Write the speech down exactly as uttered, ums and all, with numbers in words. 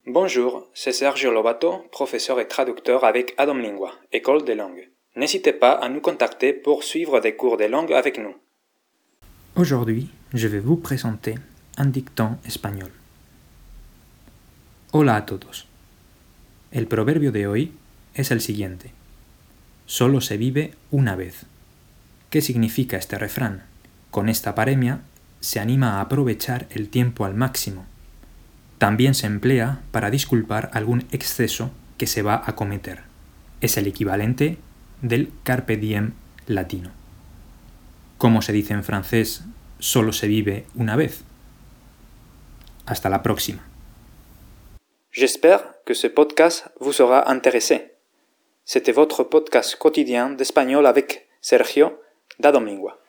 Bonjour, c'est Sergio Lobato, professeur et traducteur avec Adam Lingua, École des langues. N'hésitez pas à nous contacter pour suivre des cours de langue avec nous. Aujourd'hui, je vais vous présenter un dicton espagnol. Hola a todos. El proverbio de hoy es el siguiente. Solo se vive una vez. ¿Qué significa este refrán? Con esta paremia se anima a aprovechar el tiempo al máximo. También se emplea para disculpar algún exceso que se va a cometer. Es el equivalente del carpe diem latino. ¿Cómo se dice en francés solo se vive una vez? Hasta la próxima. J'espère que ce podcast vous sera intéressé. C'était votre podcast quotidien d'espagnol avec Sergio d'Adam Lingua.